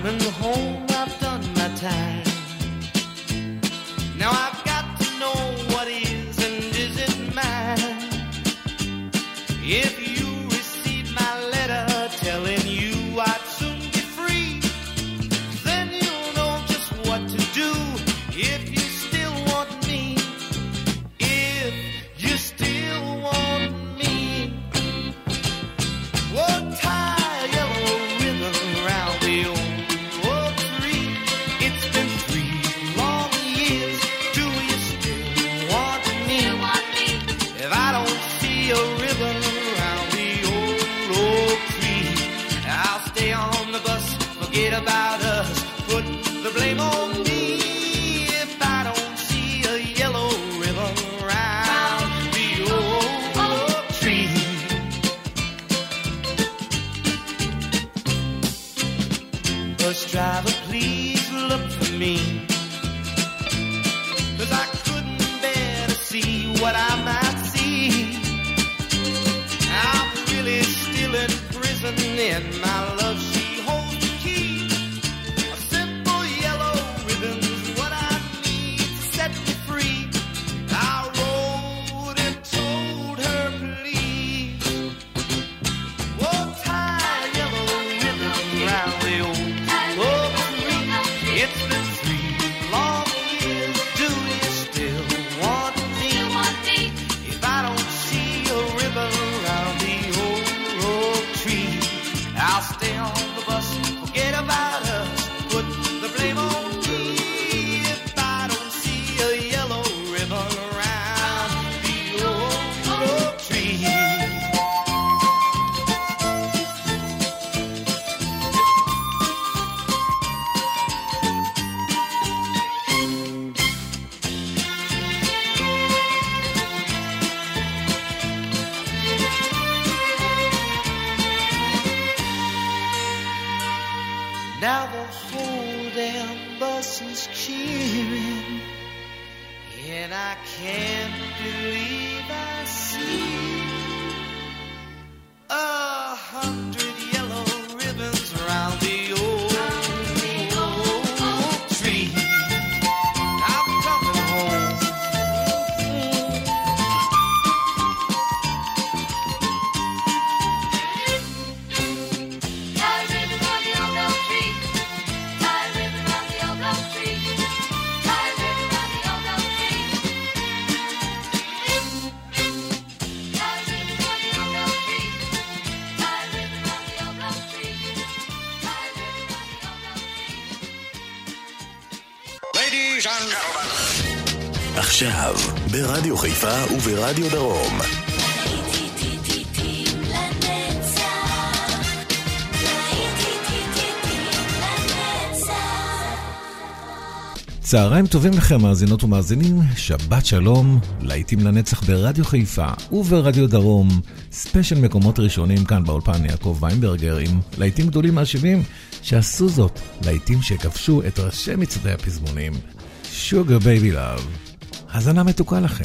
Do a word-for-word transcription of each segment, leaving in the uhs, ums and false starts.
coming home, I've done my time. Now I've got to know what is and isn't mine. If you receive my letter telling you I'd soon be free, then you'll know just what to do. If you still want me, if you still want me, well, tie a yellow ribbon around the old oak tree. It's been three long years. Do you still want me? If I don't see a ribbon around the old oak tree, I'll stay on the bus, forget about us, put the blame on me. If I don't see a yellow ribbon around the old oak tree. Bus driver, please look for me, 'cause I couldn't bear to see what I might see. I'm really still in prison in my love. She holds the key. A simple yellow ribbon's what I need to set me free. I wrote and told her, please, oh, tie a yellow ribbon around the old oak tree. It's been three long years. Do you still want me? If I don't see a ribbon around the old oak tree, I'll stay on the bus, forget about us, put the blame on me. If I don't see a yellow ribbon around the old oak tree. Now the whole damn bus is cheering, and I can't believe I see a hundred yellow ribbons around the old oak tree. I'm coming home. Tie a ribbon round the old oak tree. Tie a ribbon round the old oak tree. Tie a ribbon round the old oak tree. Tie a ribbon round the old oak tree. Tie a ribbon round the old oak tree. Tie a ribbon round the old oak tree. Ladies and gentlemen. עכשיו, ברדיו חיפה וברדיו דרום. צהריים טובים לכם מאזינות ומאזינים, שבת שלום, להיטים לנצח ברדיו חיפה וברדיו דרום, ספיישל מקומות ראשונים כאן באולפן יעקב ויינברגר עם להיטים גדולים מהשבעים שעשו זאת, להיטים שכבשו את ראשי מצעדי הפזמונים. Sugar Baby Love, הזנה מתוקה לכם.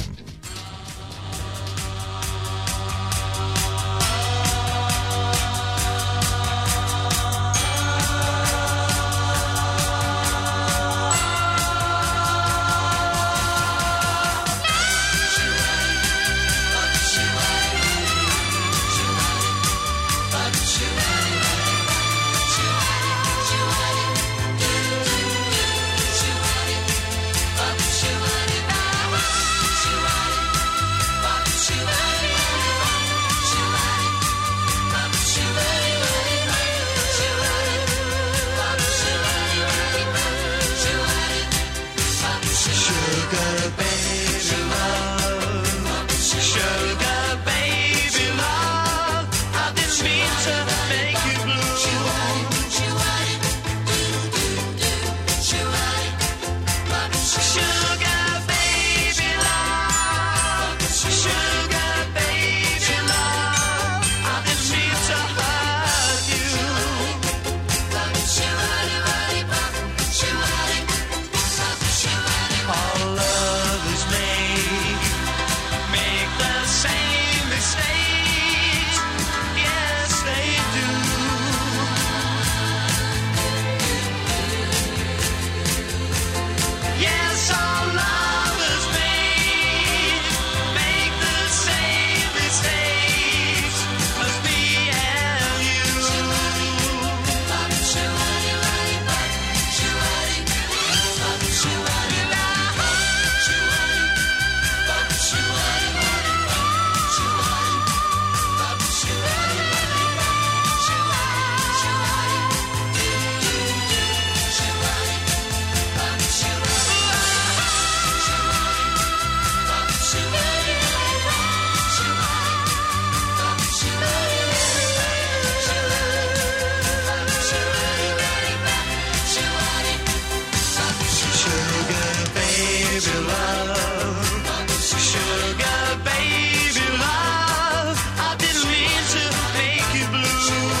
baby love, sugar baby love. I didn't mean to make you blue.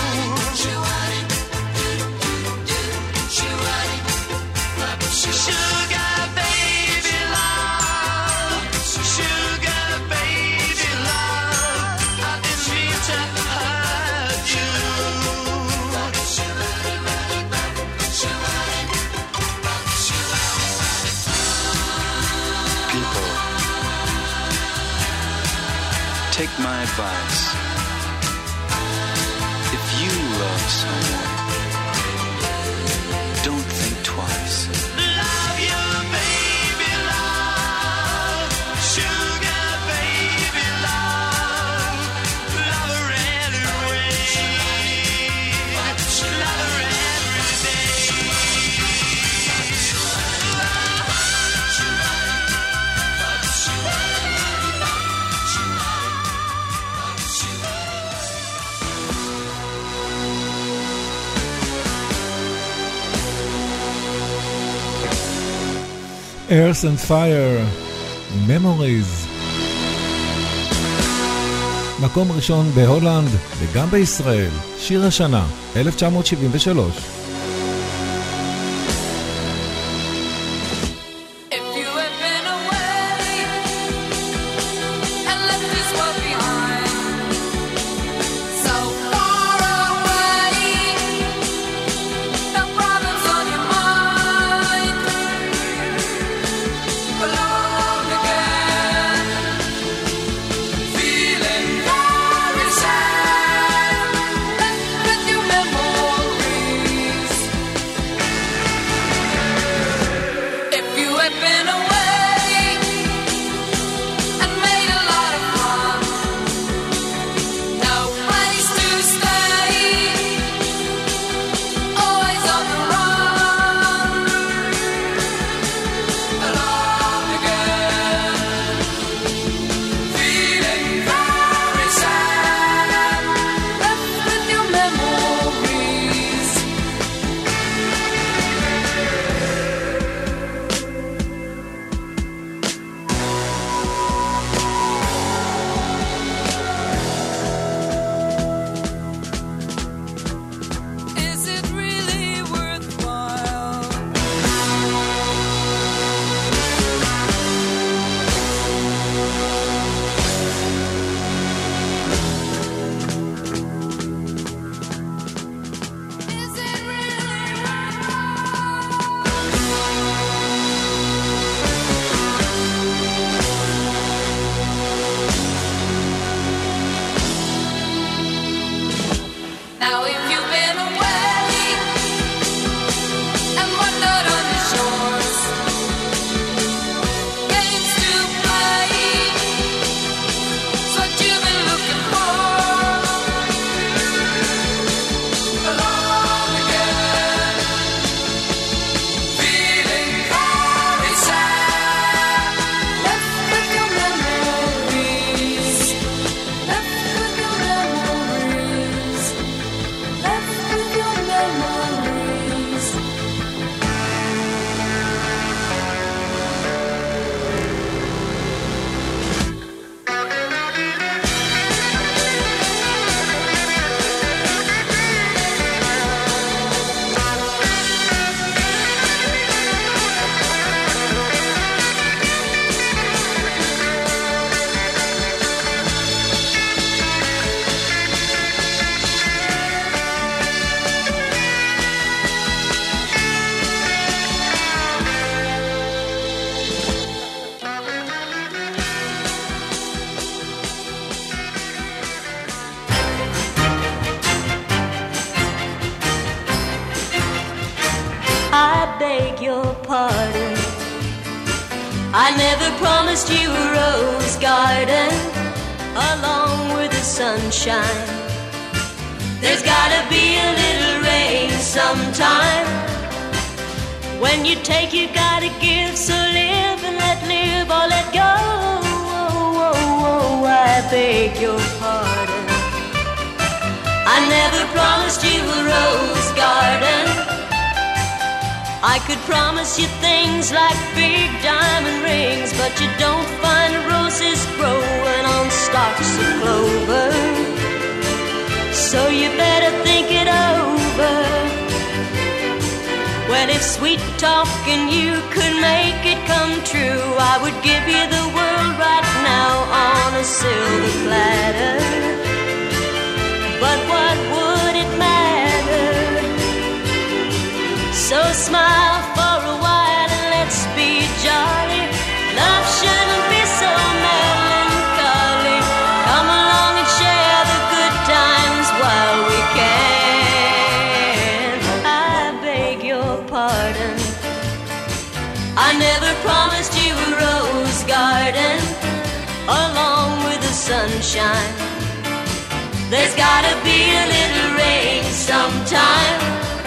Sugar baby love, sugar baby love. I didn't mean to hurt you. People, take my advice. If you love someone, don't think twice. Love you, baby love, sugar baby love. Love her anyway, love her every day. Earth and Fire, Memories. מקום ראשון בהולנד וגם בישראל, שיר השנה, אלף תשע מאות שבעים ושלוש. If you had been away and left this world behind, so far away, no problems on your mind, alone again, feeling very sad, left with your memories. If you had been away and made a lot of fun, no place to stay, always on the run, alone again, feeling very sad, left with your memories. Is it really worthwhile? Is it really Now if you've been away and wandered on the shores, games to play, it's what you've been looking for, alone again, feeling very sad, left with your memories, left with your memories. Left with your memories. I beg your pardon. I never promised you a rose garden along with the sunshine. There's gotta be a little rain sometime. When you take, you gotta give. So live and let live or let go. Oh, oh, oh, I beg your pardon. I never promised you a rose garden. I could promise you things like big diamond rings but you don't find roses growing on stalks of clover. So you better think it over. Well, if sweet talking you could make it come true, I would give you the world right now on a silver platter. But what would it matter? So smile for a while and let's be jolly. Love shouldn't be so melancholy. Come along and share the good times while we can. I beg your pardon, I never promised you a rose garden along with the sunshine. There's gotta be a little rain sometime.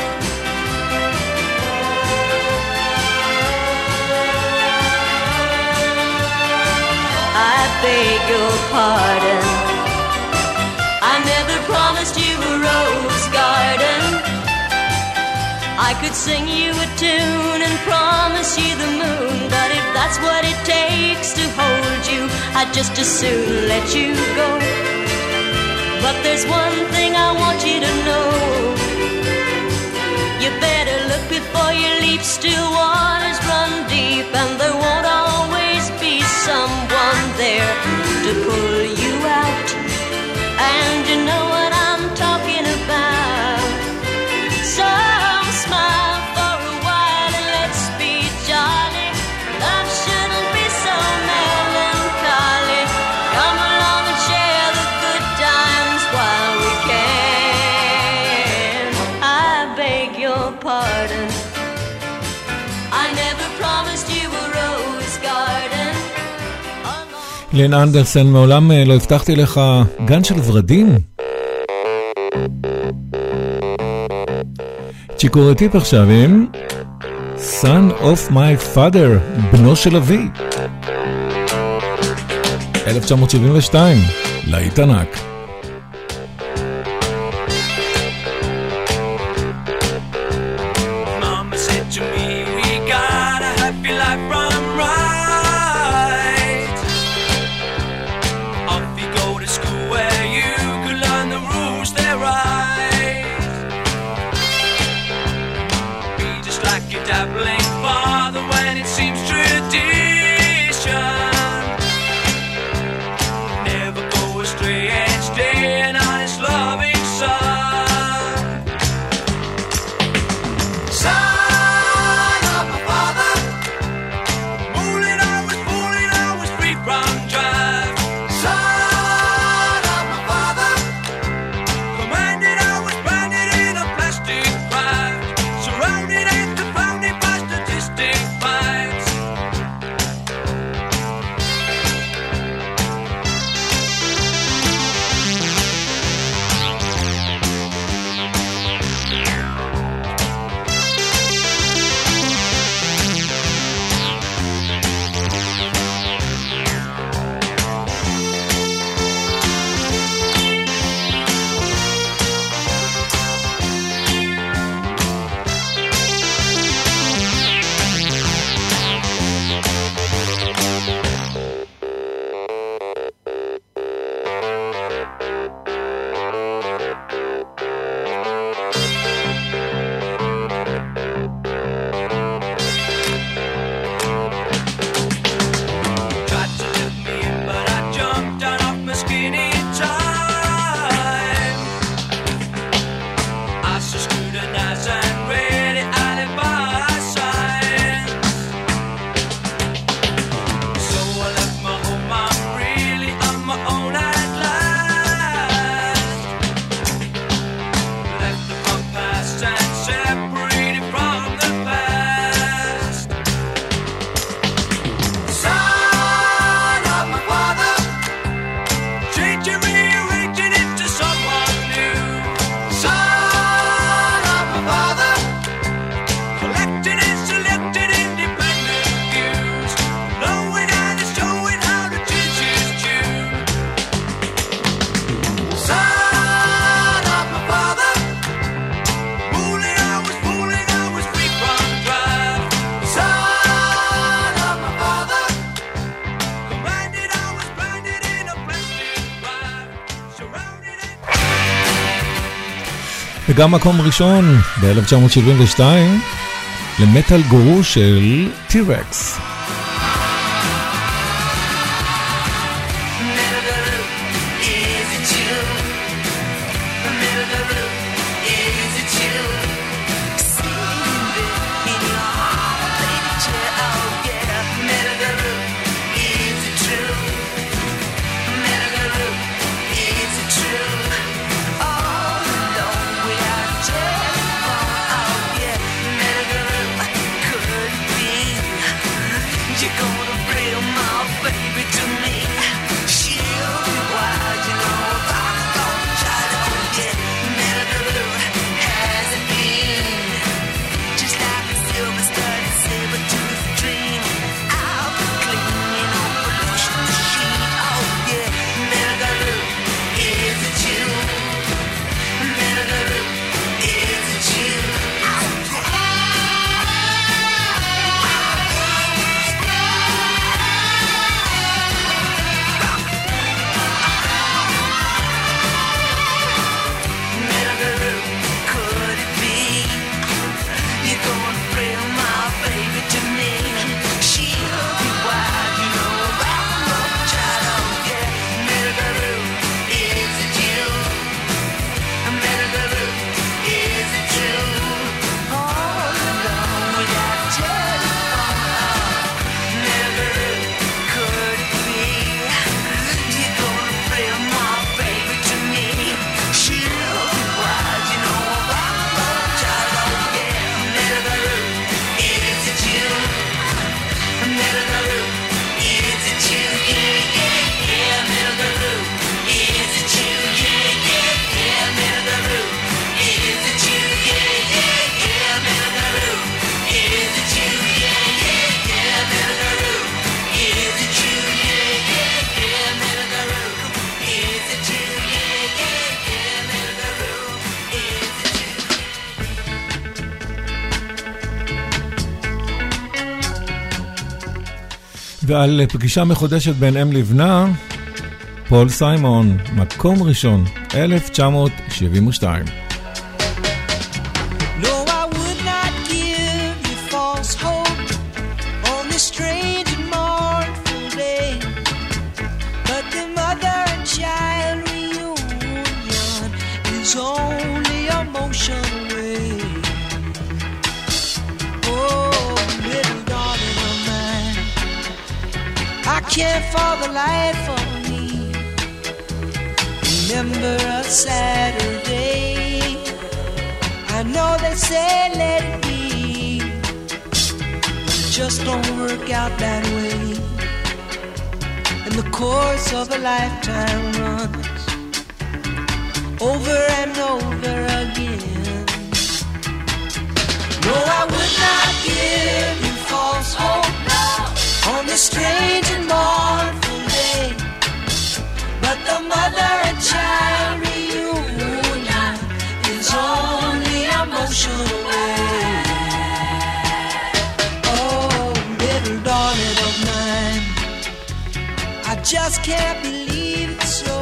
I beg your pardon, I never promised you a rose garden. I could sing you a tune and promise you the moon, but if that's what it takes to hold you, I'd just as soon let you go. But there's one thing I want you to know, you better look before you leap. Still waters run deep, and there won't always be someone there to pull you out. And you know what I'm talking about. So smile for a while and let's be jolly. Love shouldn't be so melancholy. Come along and share the good times while we can. I beg your pardon, I never promised you a rose garden. לין אנדרסן, מעולם לא הבטחתי לך גן של ורדים. צ'יקורטיפ עכשיו עם Son of my father, בנו של אבי. אלף תשע מאות שבעים ושתיים, להיט ענק. Mama said to me, we got a happy life run right. Off you go to school where you could learn the rules they're right. Be just like your dabbling father when it seems tradition. Never go astray and stay an honest loving son. Son of my father, fooling always, fooling always free from drive. Son of my father, commanded always branded in a plastic pride, surrounded and confounded by statistic fights. וגם מקום ראשון ב-אלף תשע מאות שבעים ושתיים למטל גורו של טי-רקס. ועל פגישה מחודשת בין אם לבנה, פול סיימון, מקום ראשון, אלף תשע מאות שבעים ושתיים. No, I would not give you false hope on this strange and mournful day, but the mother and child reunion is only a motion away. Oh, little darling of mine, I can't for the life of me remember a Saturday. I know they say let it be, but it just don't work out that way. And the course of a lifetime runs over and over again. No, I would not give you false hope on this strange and mournful day, but the mother and child reunion is only a motion away. Oh, little darling of mine, I just can't believe it's so,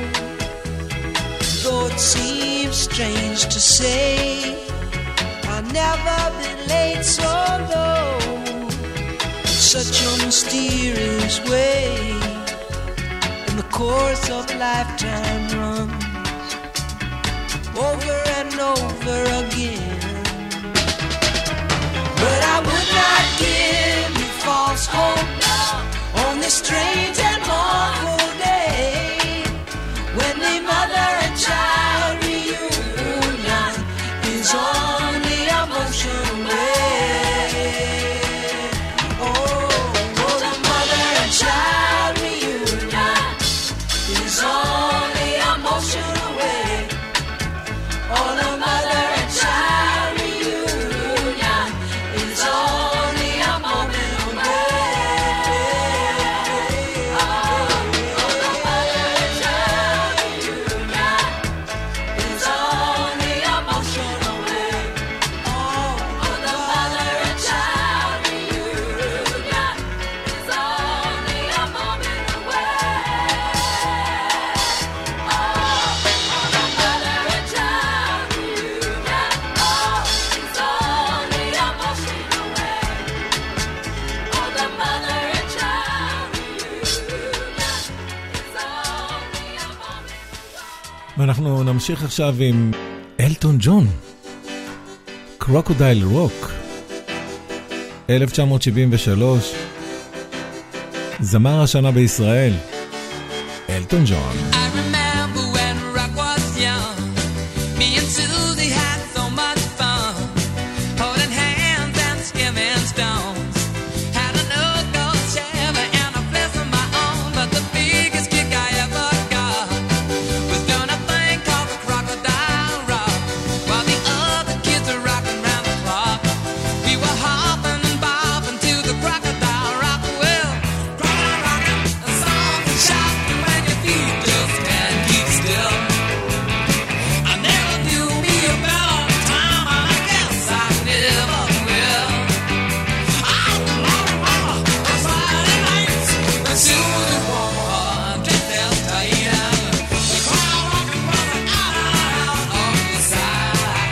though it seems strange to say, I've never been laid so low, such a mysterious way. And the course of a lifetime runs over and over again. But I would not give you false hope on this strange and mournful day, when the mother and child reunion is only a motion away. Oh, oh, the mother and child reunion is only a motion away. Oh, the mother and child reunion is only a ואנחנו נמשיך עכשיו עם אלטון ג'ון, קרוקודייל רוק, אלף תשע מאות שבעים ושלוש, זמר השנה בישראל, אלטון ג'ון. I remember when rock was young. Me and Susie had so much fun, holding hands and skimming stones. Had an old gold Chevy and a place of my own, but the biggest kick I ever got was doing a thing called the Crocodile Rock, while the other kids were rocking round the clock. We were hopping and bobbing to the Crocodile Rock. Well, crocodile rocking, a song and shouting when your feet just can't keep still. I never knew me a better time, and I guess I never will. Oh, Lord, mama, on Friday nights, when Susie wore her dress as tight and the crowd rocking, rocking out, out, out on the side.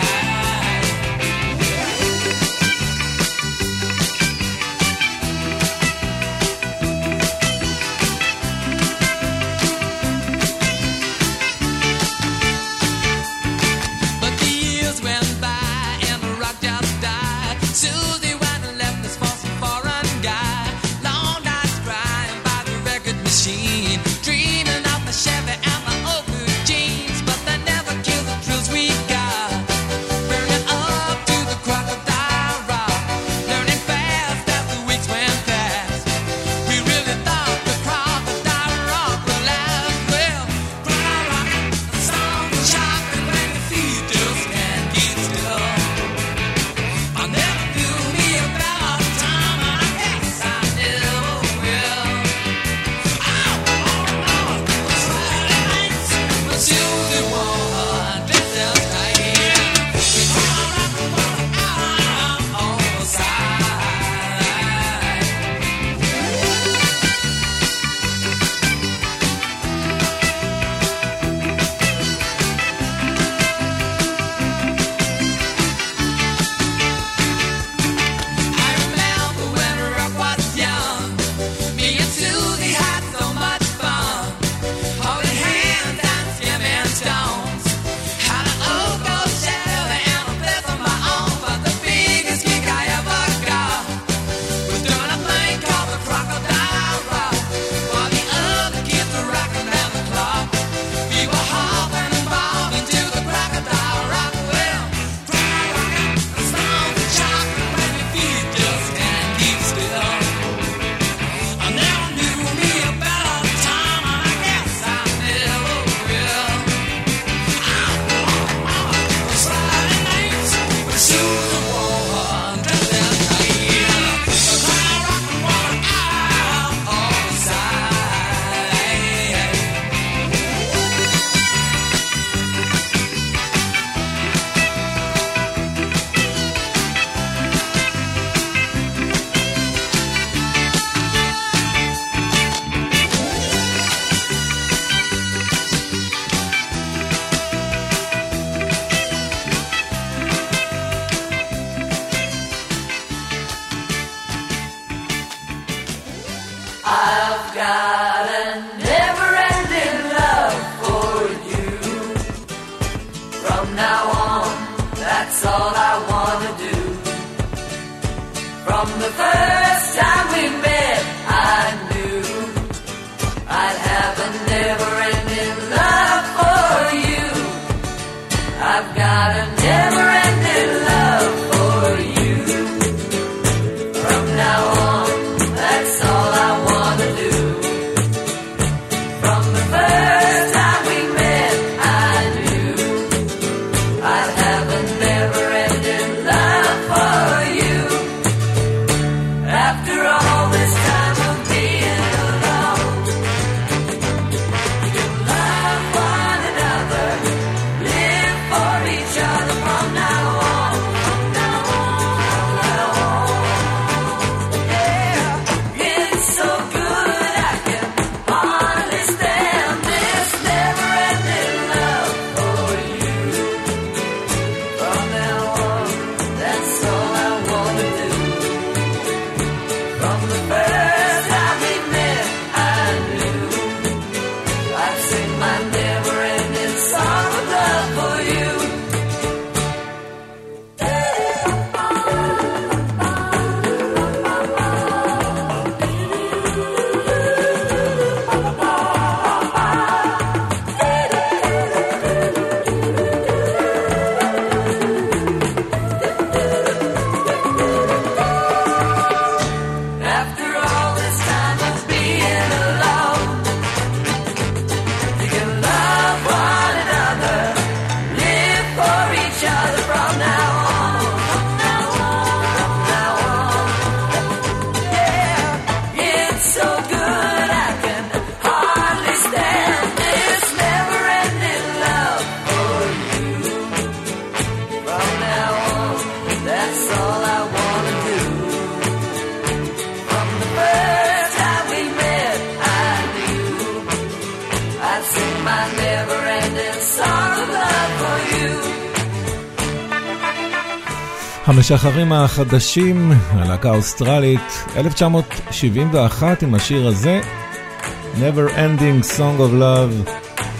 But the years went by and the rock just died. Susie went and left us for some foreign guy. Long nights crying by the record machine, dreaming of the Chevy and the old blue jeans. But they never killed the thrills we got, burning up to the Crocodile Rock, learning fast as the weeks went past. We really thought the Crocodile Rock would last. Well, crocodile rocking, the song is shocking when your feet just can't keep still. I never knew me a better time, and I guess I never will. Oh, Lord, Lord, on Friday nights, when Susie wore her dress as tight, we crowd rocking, rocking out, out on the side. I remember when rock was young. Me and Susie had so much fun, holding hands and skimming stones. Had an old gold Chevy and a place of my own, but the biggest kick I ever got was doing a thing called the Crocodile Rock, while the other kids were rocking round the clock. We were hopping and bobbing to the Crocodile Rock. Well, crocodile rocking, the song is shocking when your feet just can't keep still. I never knew me a better time, and I guess I never will. Oh, Lord, mama, those Friday nights when Susie wore her dress as tight, the crowd rocking, rocking out on the side. I've got a never-ending love for you. From now on, that's all I want to do. From the first time we met, I knew I'd have a never-ending love for you. I've got a never-ending love for you. From now on, that's all I want to do. From the first time we met, I knew I'd have a never-ending love for you. After all this time of being alone, you love one another, live for each other from now on, from now on, from now on. Yeah, it's so good I can hardly stand this never-ending love for you. From now on, that's all I want to do. From the first time we met, I knew I'd sing my never-ending המשחררים החדשים, הלהקה האוסטרלית, אלף תשע מאות שבעים ואחת עם השיר הזה, Never Ending Song of Love.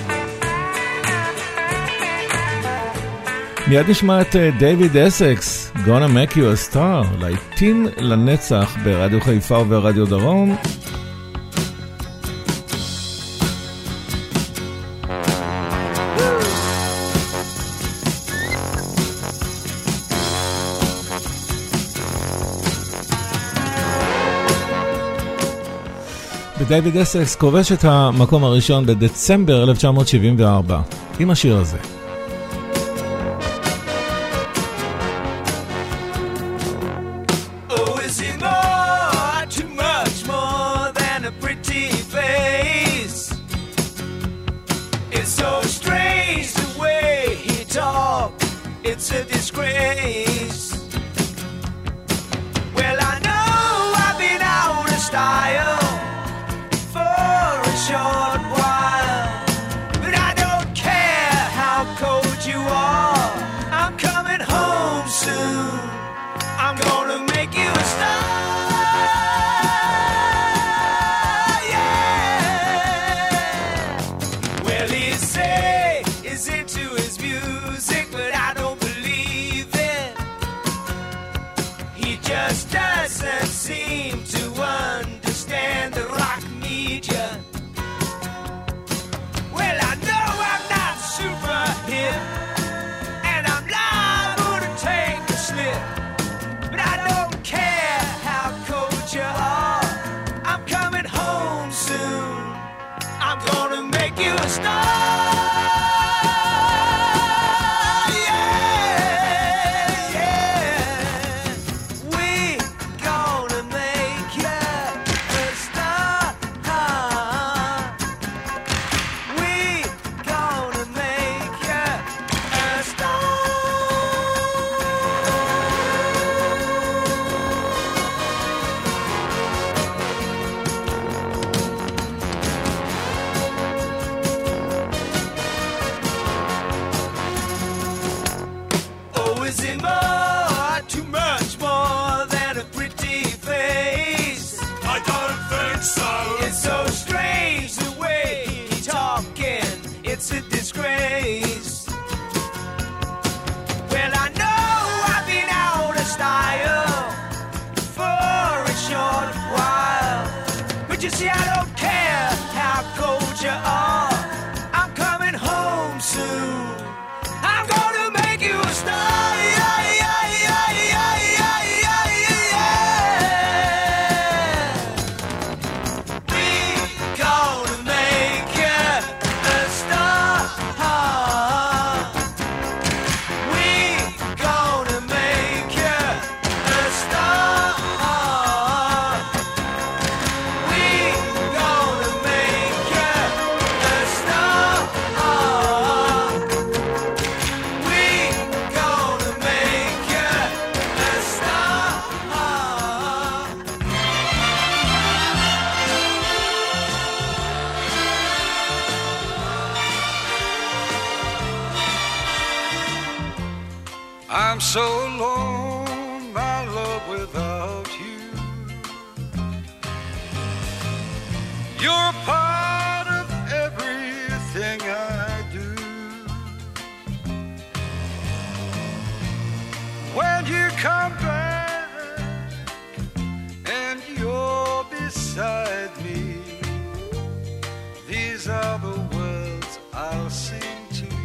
מיד נשמע את דייוויד אסקס, Gonna Make You a Star, להיטים לנצח ברדיו חיפה וברדיו דרום. ודייוויד אסקס כובש את המקום הראשון בדצמבר אלף תשע מאות שבעים וארבע עם השיר הזה. I'm so alone, my love, without you. You're part of everything I do. When you come back and you're beside me, these are the words I'll sing to you.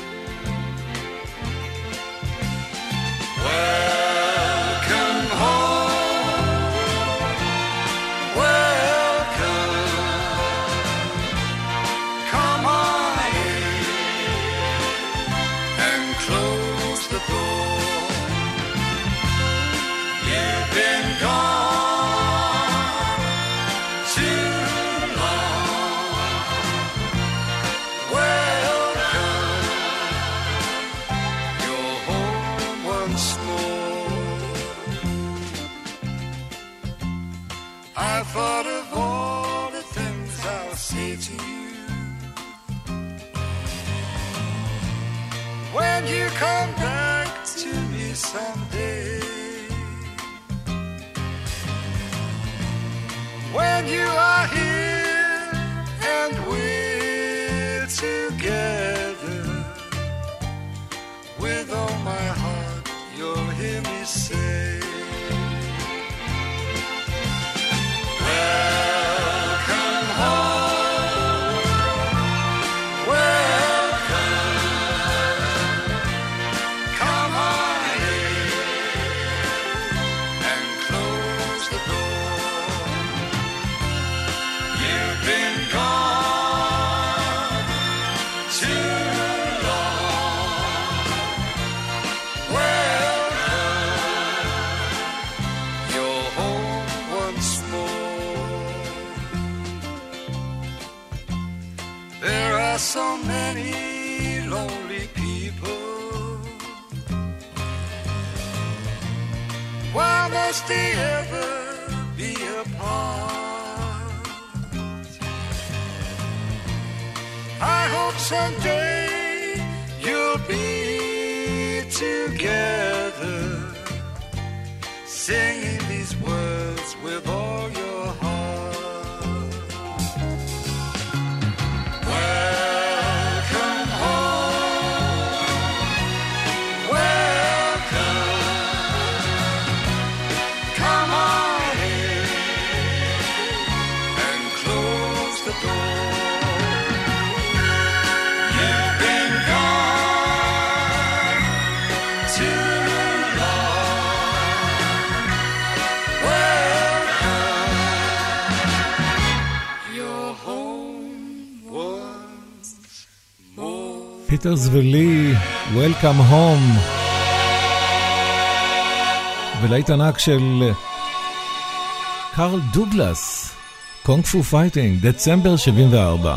Welcome home, welcome. Come on in and close the door. You've been gone too long. Welcome, you're home once more. I thought of all the things I'll say to you when you come back to me someday. when you are here and we're together. With all my heart, you'll hear me say, welcome home, welcome, come on in and close the door. You've been gone too long. Welcome, you're home once more. There are so many lonely people. Why must they ever be apart? I hope someday you'll be together, singing these words with all your heart. Welcome home, welcome, come on in and close the door. You've been gone too long. Welcome, you're home once more. פיטרס ולי, Welcome Home. ולהיט ענק של קארל דוגלס, קונג פו פייטינג, דצמבר שבעים וארבע.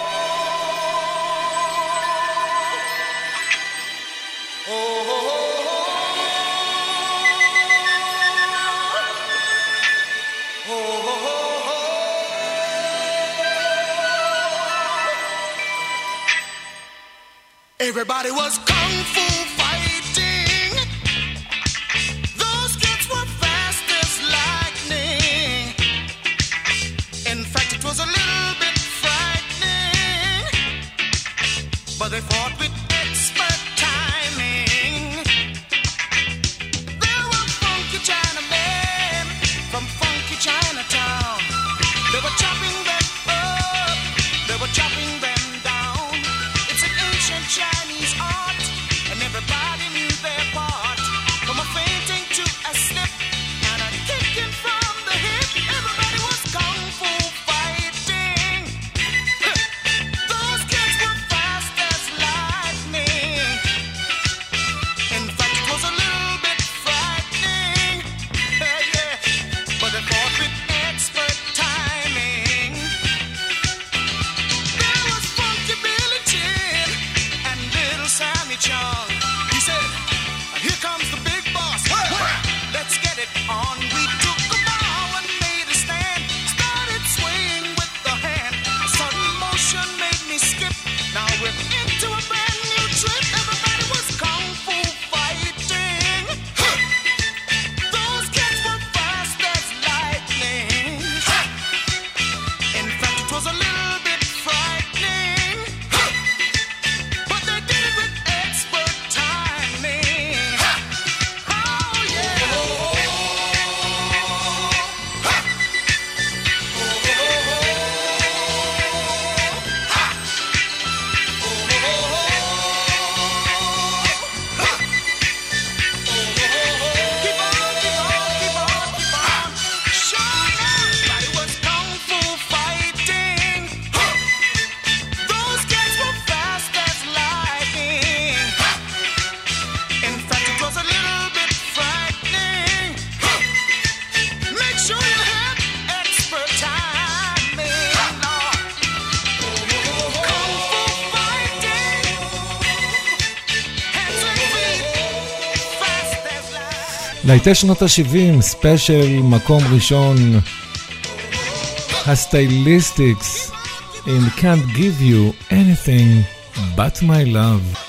Everybody was kung fu fighting. Those kids were fast as lightning. In fact, it was a little bit frightening, but they fought with expert timing. There were funky Chinamen from funky Chinatown. They were chopping them up, they were chopping them down. It's an ancient Chinese art, and everybody knew their part. From a fainting to a slip and a kicking from the hip, everybody was kung fu fighting. Those kids were fast as lightning. In fact, it was a little bit frightening, yeah, yeah. But they fought with expert timing. There was funky Billy Chin and little Sammy Chung. He said, here comes the big boss. Let's get it on. We took a bow and made a stand. Started swaying with the hand. A sudden motion made me skip. Now we're into a brand new trip. Everybody was kung fu fighting. Those kids were fast as lightning. In fact, it was a little bit frightening, but they did it with expert timing. Oh yeah. Keep on, keep on, keep on, keep on. Sure, everybody was kung fu fighting. Those kids were fast as lightning. In fact, it was a little bit frightening. Make sure you had expert timing. Kung fu fighting. Hands and feet, fast as lightning. להיטי שנות ה-שבעים, ספיישל מקום ראשון, הסטייליסטיקס in Can't Give You Anything But My Love.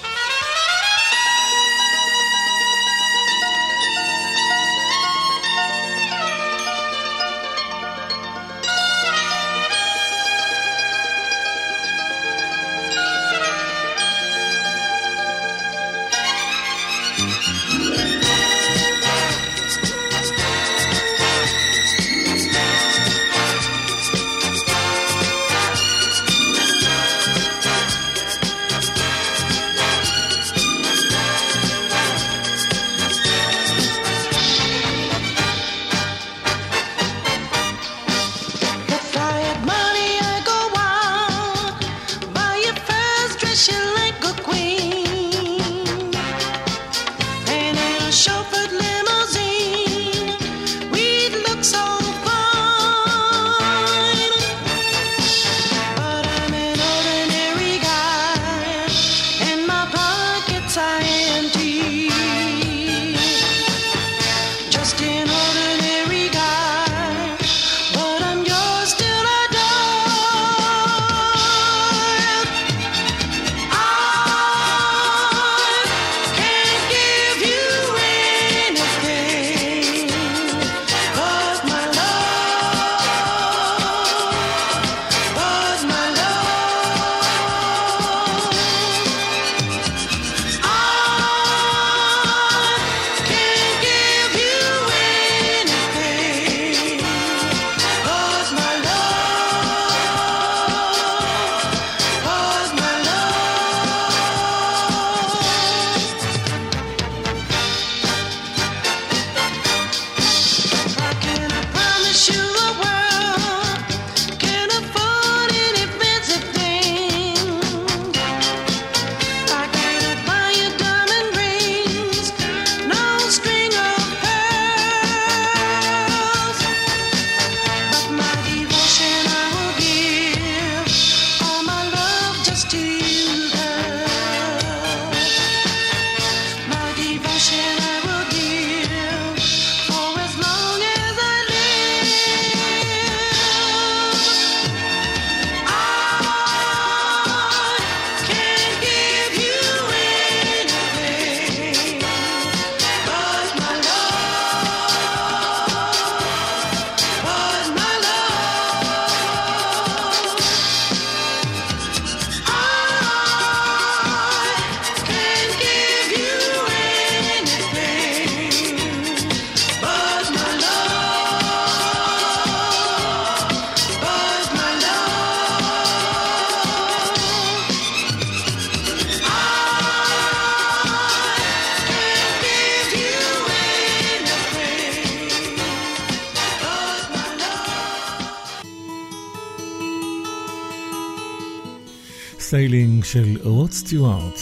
סיילינג של רוד סטיוארט.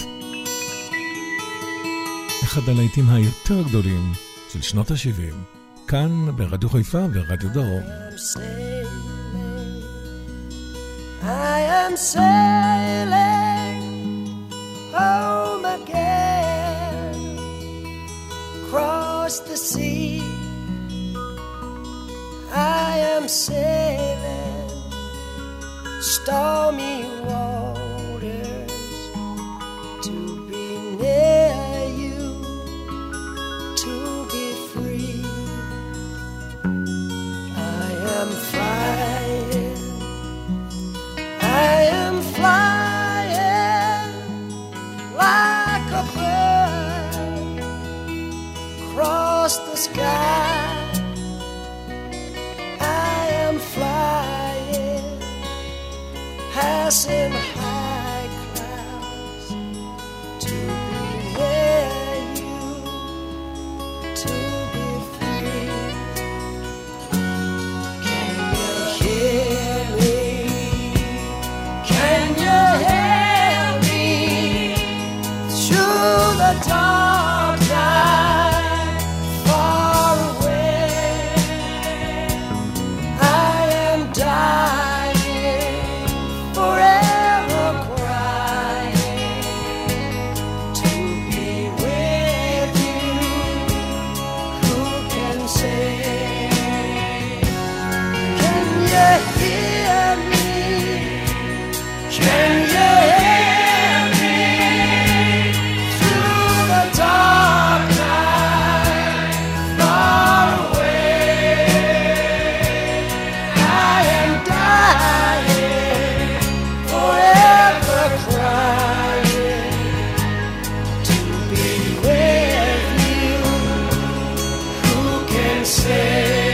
אחד הלהיטים היותר גדולים של שנות ה-שבעים. כאן ברדיו חיפה ורדיו דרום. I am sailing home again, across the sea. I am sailing stormy waters to be near you, to be free. I am flying, I am flying like a bird across the sky. I am flying, passing high clouds to be near you, to be free. Can you hear me? Can you hear me through the dark night, far away? I am dying, forever crying to be with you. Who can say? Can you hear me? Can you hear me through the dark night, far away? I am dying, forever crying to be with you. Who can say?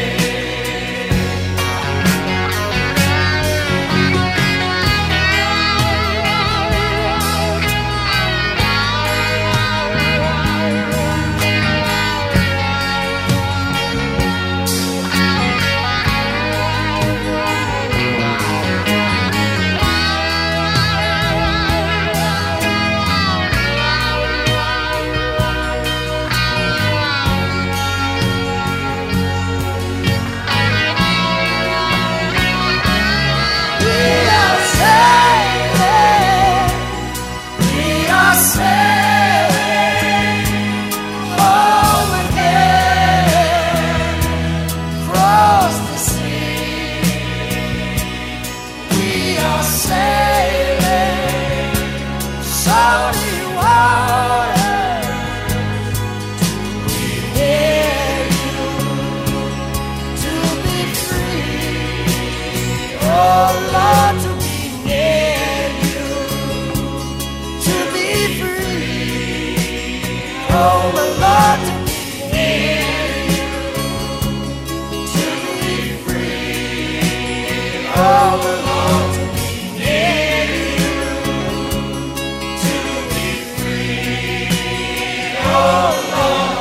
We are sailing, we are sailing home again, across the sea. We are sailing salty waters to be near you, to be free. Oh Lord, to be near you, to be free. Oh my Lord, to be near you, to be free. Oh my Lord, to be near you, to be free. Oh Lord.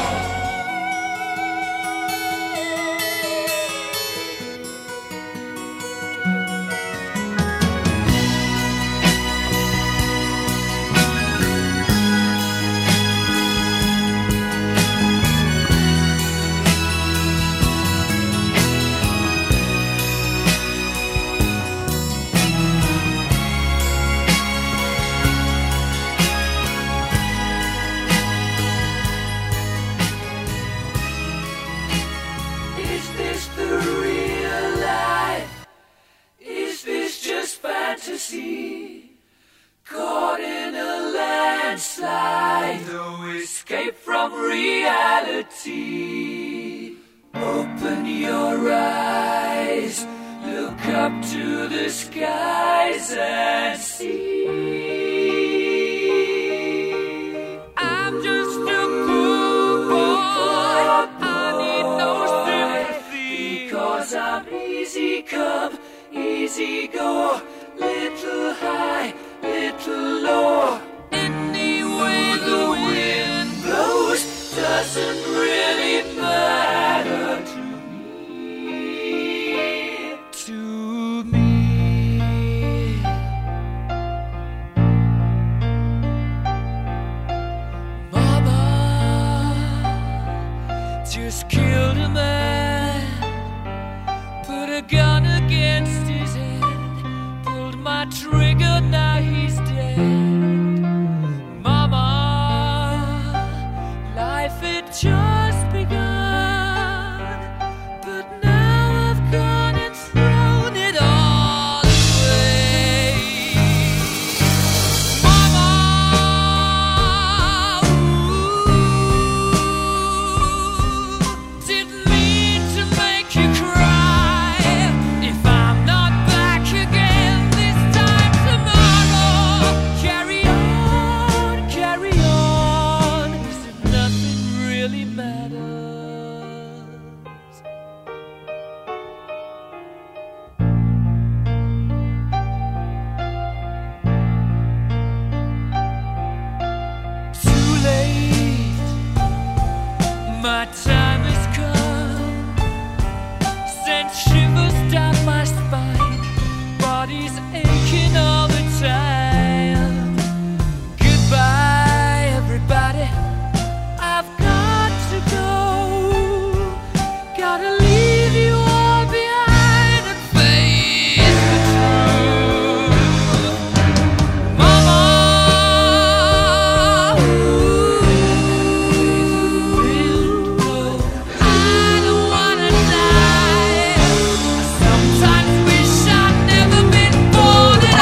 Is this the real life? Is this just fantasy? Caught in a landslide, no escape from reality. Open your eyes, look up to the skies and see. I'm just a poor boy, I need no sympathy, because I'm easy come, easy go, little high, little low. Any way the wind blows doesn't really matter to me, to me. I triggered, now he's dead. Mama, life had just begun, but now I've gone and thrown it all away. Mama, ooh, didn't mean to make you cry. If I'm not back again this time tomorrow, carry on, carry on, as if nothing really matters. Too late, my time has come. Sent shivers down my spine, body's aching all the time. Goodbye, everybody, I've got to go. Gotta leave you all behind and face the truth. Mama, ooh, I don't wanna die. I sometimes wish I'd never been born at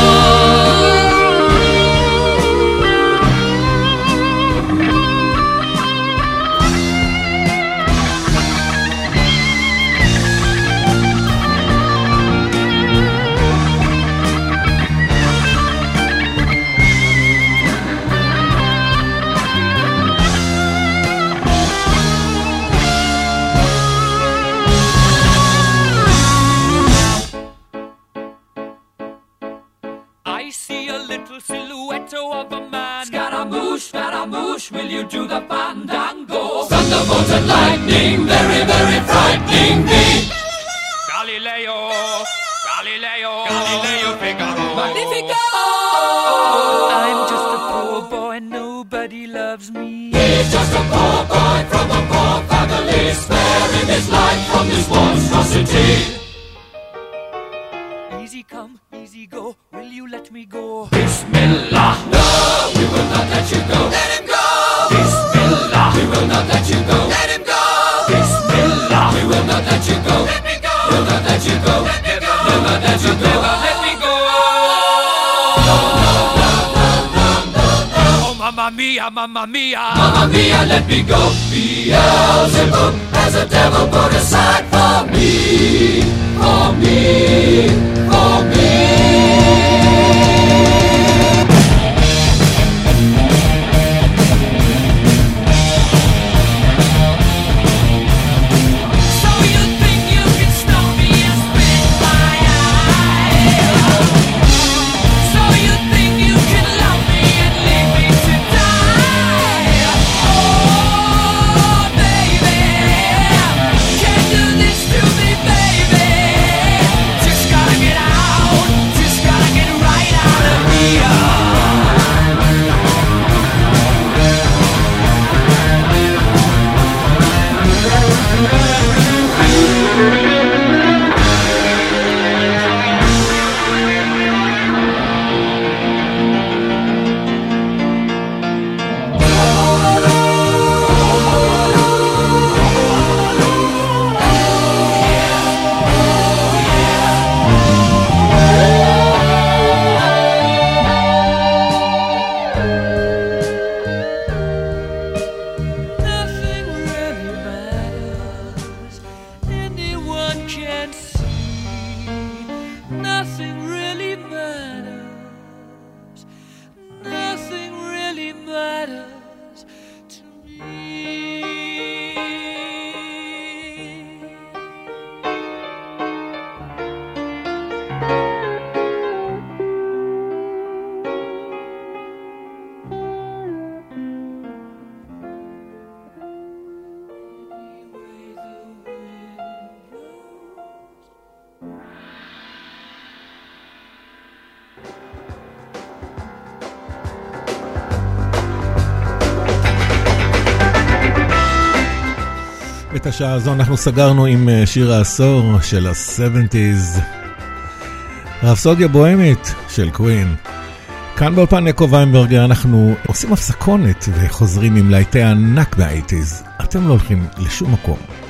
I see a little silhouette of a man. Scaramouche, Scaramouche, will you do the fandango? Thunderbolt and lightning, very, very frightening me. Galileo, Galileo, Galileo Figaro. Magnifico! I'm just a poor boy, nobody loves me. He's just a poor boy from a poor family, sparing his life from this monstrosity. Easy come, easy go, will you let me go? Bismillah, no, we will not let you go. Let him go! Bismillah, we will not let you go. Let him go! Bismillah, we will not let you go. Let me go! We'll not let you go. Let me go! We'll not let you go. Let me go! No, no, no, no, no, no, no. Oh, mamma mia, mamma mia. Mamma mia, let me go. Beelzebub has a devil put aside for me. For me, for me. So you think you can stop me and spit my eye? So you think you can love me and leave me to die? Oh, baby, can't do this to me, baby. Just gotta get out, just gotta get right out of here. Nothing really matters. Anyone can see. Nothing really matters. Nothing really matters to me. את השעה הזו אנחנו סגרנו עם שיר העשור של ה-שבעים. רפסודיה בוהמית של קווין. כאן באולפן יעקב ויינברגר אנחנו עושים הפסקונת וחוזרים עם להיטי ענק מה-שמונים. אתם לא הולכים לשום מקום.